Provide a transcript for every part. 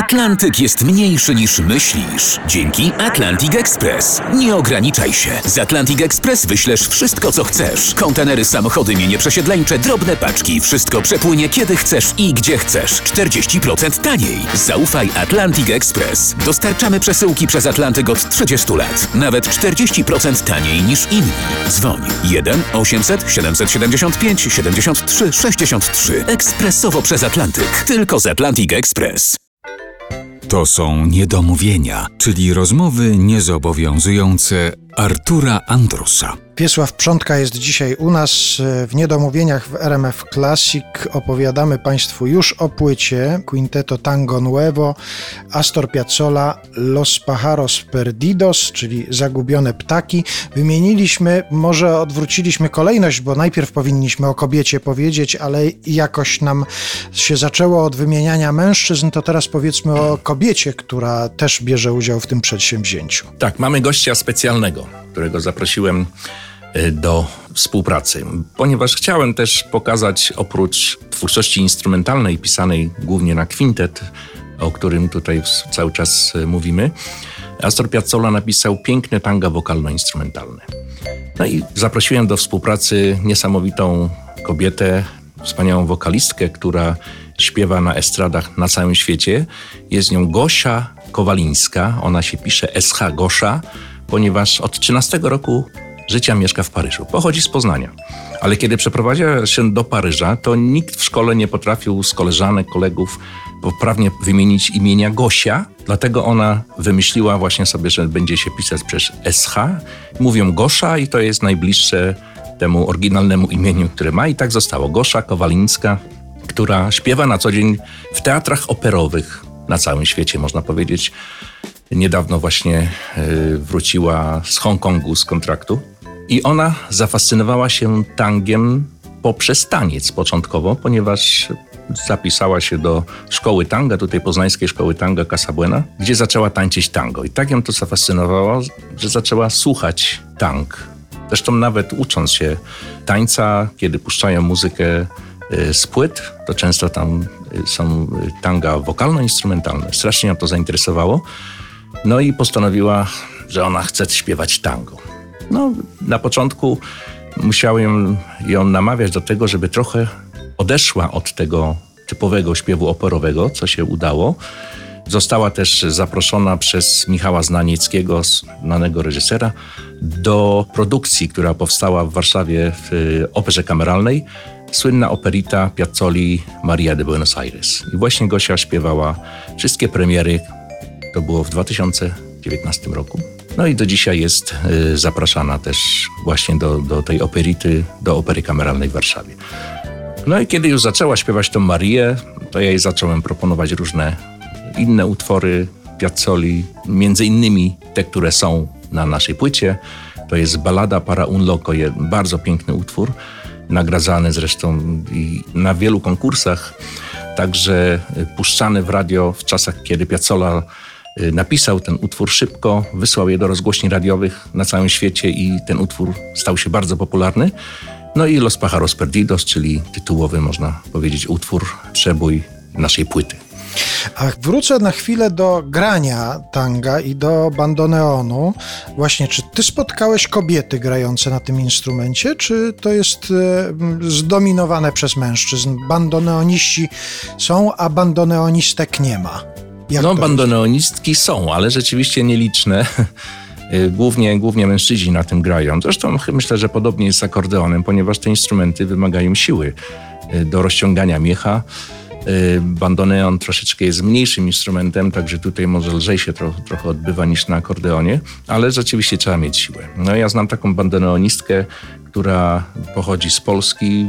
Atlantyk jest mniejszy niż myślisz. Dzięki Atlantic Express. Nie ograniczaj się. Z Atlantic Express wyślesz wszystko, co chcesz. Kontenery, samochody, mienie przesiedleńcze, drobne paczki. Wszystko przepłynie kiedy chcesz i gdzie chcesz. 40% taniej. Zaufaj Atlantic Express. Dostarczamy przesyłki przez Atlantyk od 30 lat. Nawet 40% taniej niż inni. Dzwoń 1 800 775 73 63. Ekspresowo przez Atlantyk. Tylko z Atlantic Express. To są niedomówienia, czyli rozmowy niezobowiązujące Artura Andrusa. Wiesław Przątka jest dzisiaj u nas w Niedomówieniach w RMF Classic. Opowiadamy Państwu już o płycie Quinteto Tango Nuevo, Astor Piazzolla, Los Pájaros Perdidos, czyli Zagubione Ptaki. Wymieniliśmy, może odwróciliśmy kolejność, bo najpierw powinniśmy o kobiecie powiedzieć, ale jakoś nam się zaczęło od wymieniania mężczyzn, to teraz powiedzmy o kobiecie, która też bierze udział w tym przedsięwzięciu. Tak, mamy gościa specjalnego, którego zaprosiłem do współpracy, ponieważ chciałem też pokazać, oprócz twórczości instrumentalnej pisanej głównie na kwintet, o którym tutaj cały czas mówimy, Astor Piazzolla napisał piękne tanga wokalno-instrumentalne. No i zaprosiłem do współpracy niesamowitą kobietę, wspaniałą wokalistkę, która śpiewa na estradach na całym świecie. Jest nią Gosia Kowalińska, ona się pisze SH Gosia, ponieważ od 13 roku życia mieszka w Paryżu. Pochodzi z Poznania. Ale kiedy przeprowadziła się do Paryża, to nikt w szkole nie potrafił z koleżanek, kolegów poprawnie wymienić imienia Gosia. Dlatego ona wymyśliła właśnie sobie, że będzie się pisać przez SH. Mówią Gosia i to jest najbliższe temu oryginalnemu imieniu, które ma. I tak zostało. Gosia Kowalińska, która śpiewa na co dzień w teatrach operowych na całym świecie, można powiedzieć. Niedawno właśnie wróciła z Hongkongu z kontraktu i ona zafascynowała się tangiem poprzez taniec początkowo, ponieważ zapisała się do szkoły tanga, tutaj poznańskiej szkoły tanga Casa Buena, gdzie zaczęła tańczyć tango. I tak ją to zafascynowało, że zaczęła słuchać tang. Zresztą nawet ucząc się tańca, kiedy puszczają muzykę z płyt, to często tam są tanga wokalno-instrumentalne. Strasznie ją to zainteresowało. No i postanowiła, że ona chce śpiewać tango. No, na początku musiałem ją namawiać do tego, żeby trochę odeszła od tego typowego śpiewu operowego, co się udało. Została też zaproszona przez Michała Znanieckiego, znanego reżysera, do produkcji, która powstała w Warszawie w Operze Kameralnej. Słynna operita Piazzoli Maria de Buenos Aires. I właśnie Gosia śpiewała wszystkie premiery. To było w 2019 roku. No i do dzisiaj jest zapraszana też właśnie do tej operity, do Opery Kameralnej w Warszawie. No i kiedy już zaczęła śpiewać tą Marię, to ja jej zacząłem proponować różne inne utwory Piazzoli, między innymi te, które są na naszej płycie. To jest Ballada para un loco, bardzo piękny utwór, nagradzany zresztą i na wielu konkursach, także puszczany w radio w czasach, kiedy Piazzolla napisał ten utwór szybko, wysłał je do rozgłośni radiowych na całym świecie i ten utwór stał się bardzo popularny. No i Los Pájaros Perdidos, czyli tytułowy, można powiedzieć, utwór, przebój naszej płyty. A wrócę na chwilę do grania tanga i do bandoneonu. Właśnie, czy ty spotkałeś kobiety grające na tym instrumencie, czy to jest zdominowane przez mężczyzn? Bandoneoniści są, a bandoneonistek nie ma. No, bandoneonistki są, ale rzeczywiście nieliczne. Głównie mężczyźni na tym grają. Zresztą myślę, że podobnie jest z akordeonem, ponieważ te instrumenty wymagają siły do rozciągania miecha. Bandoneon troszeczkę jest mniejszym instrumentem, także tutaj może lżej się trochę odbywa niż na akordeonie, ale rzeczywiście trzeba mieć siłę. No ja znam taką bandoneonistkę, która pochodzi z Polski,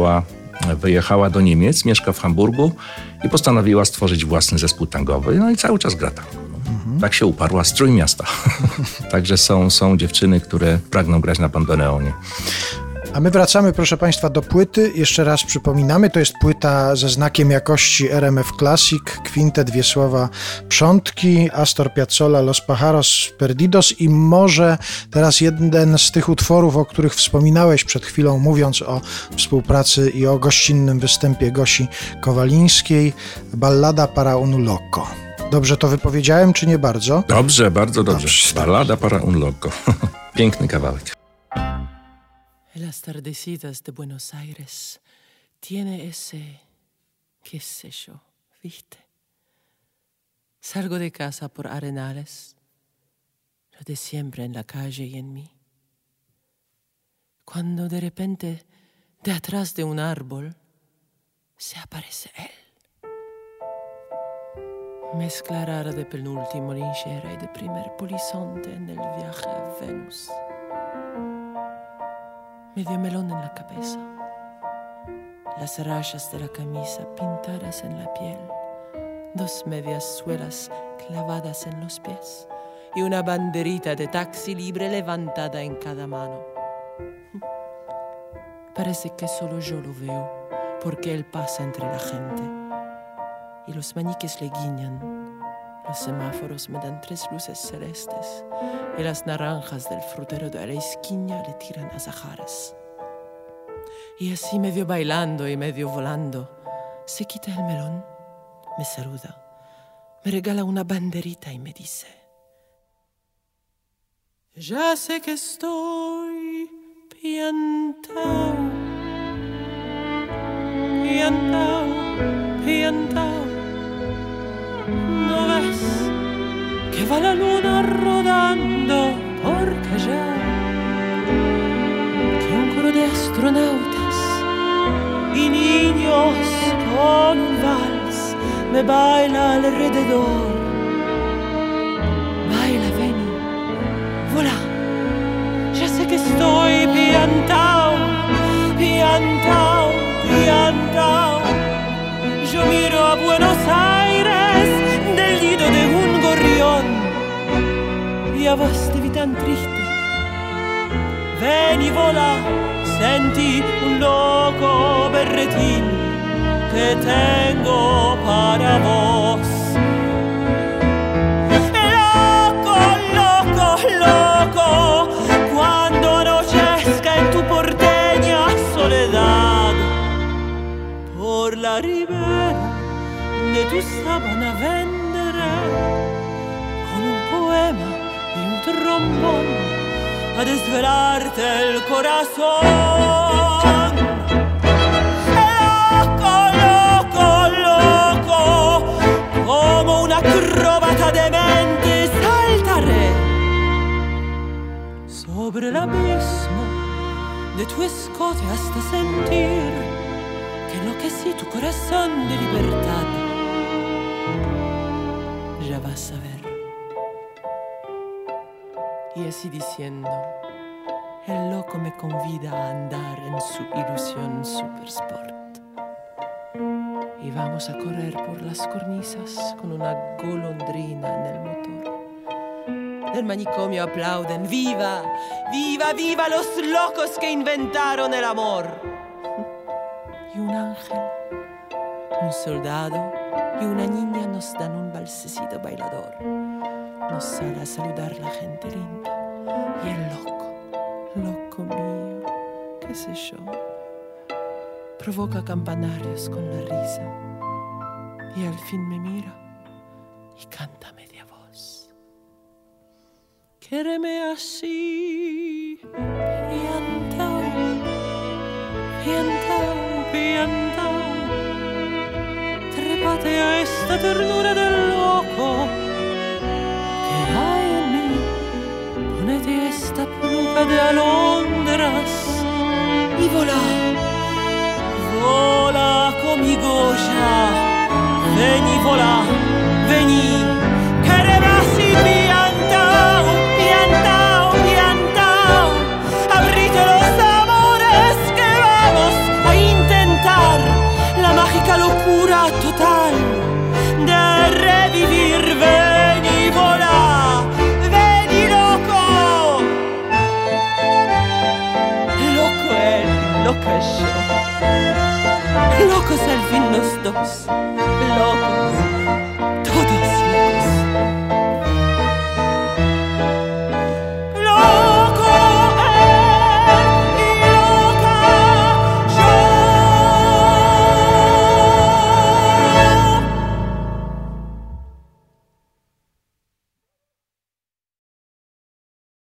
wyjechała do Niemiec, mieszka w Hamburgu i postanowiła stworzyć własny zespół tangowy, no i cały czas gra tango. Tak się uparła, strój miasta. Także są dziewczyny, które pragną grać na bandoneonie. A my wracamy, proszę Państwa, do płyty. Jeszcze raz przypominamy, to jest płyta ze znakiem jakości RMF Classic, kwintet Wiesława Przątki, Astor Piazzolla, Los Pájaros Perdidos i może teraz jeden z tych utworów, o których wspominałeś przed chwilą, mówiąc o współpracy i o gościnnym występie Gosi Kowalińskiej, Ballada para un loco. Dobrze to wypowiedziałem, czy nie bardzo? Dobrze, bardzo dobrze. Dobrze. Balada para un loco. Piękny kawałek. Las tardecitas de Buenos Aires tiene ese, qué sé yo, ¿viste? Salgo de casa por Arenales, lo de siempre en la calle y en mí. Cuando de repente, de atrás de un árbol, se aparece él. Mezcla rara de penúltimo linchera y de primer polizonte en el viaje a Venus. Medio melón en la cabeza, las rayas de la camisa pintadas en la piel, 2 medias suelas clavadas en los pies y una banderita de taxi libre levantada en cada mano. Parece que solo yo lo veo, porque él pasa entre la gente y los maniques le guiñan. Los semáforos me dan 3 luces celestes y las naranjas del frutero de la esquina le tiran azahares. Y así medio bailando y medio volando, se quita el melón, me saluda, me regala una banderita y me dice: ya sé que estoy piantao, piantao, piantao. ¿No ves que va la luna rodando por Callao? Que un coro de astronautas y niños con un vals me baila alrededor. Baila, vení, volá. Ya sé que estoy piantao, piantao, piantao. Yo miro a Buenos Aires del nido de un gorrión y a vos te vi tan triste. Ven y vola, sentí un loco berretín que tengo para vos. Loco, loco, loco, cuando anochezca en tu porteña soledad, por la ribera de tu sábana vendré con un poema y un trombón a desvelarte el corazón. Loco, loco, loco, como una acróbata demente saltaré sobre el abismo de tu escote hasta sentir que enloquecí tu corazón de libertad. Ya vas a ver. Y así diciendo, el loco me convida a andar en su ilusión supersport. Y vamos a correr por las cornisas con una golondrina en el motor. Del manicomio aplauden, ¡viva! ¡Viva, viva los locos que inventaron el amor! Y un ángel, un soldado y una niña nos dan un balsecito bailador. Nos sale a saludar la gente linda. Y el loco, loco mío, qué sé yo, provoca campanarios con la risa. Y al fin me mira y canta a media voz. Quéreme así, piantao, piantao, piantao. Trépate a esta ternura del loco que hay en mí. Ponete esta peluca de alondras y volá, volá conmigo ya. Vení, volá, vení. Quéreme así, piantao, piantao, piantao. Abrite los amores que vamos a intentar. La mágica locura total de revivir. Vení, volá, vení, loco. Loco él, loco yo. Locos al fin los dos.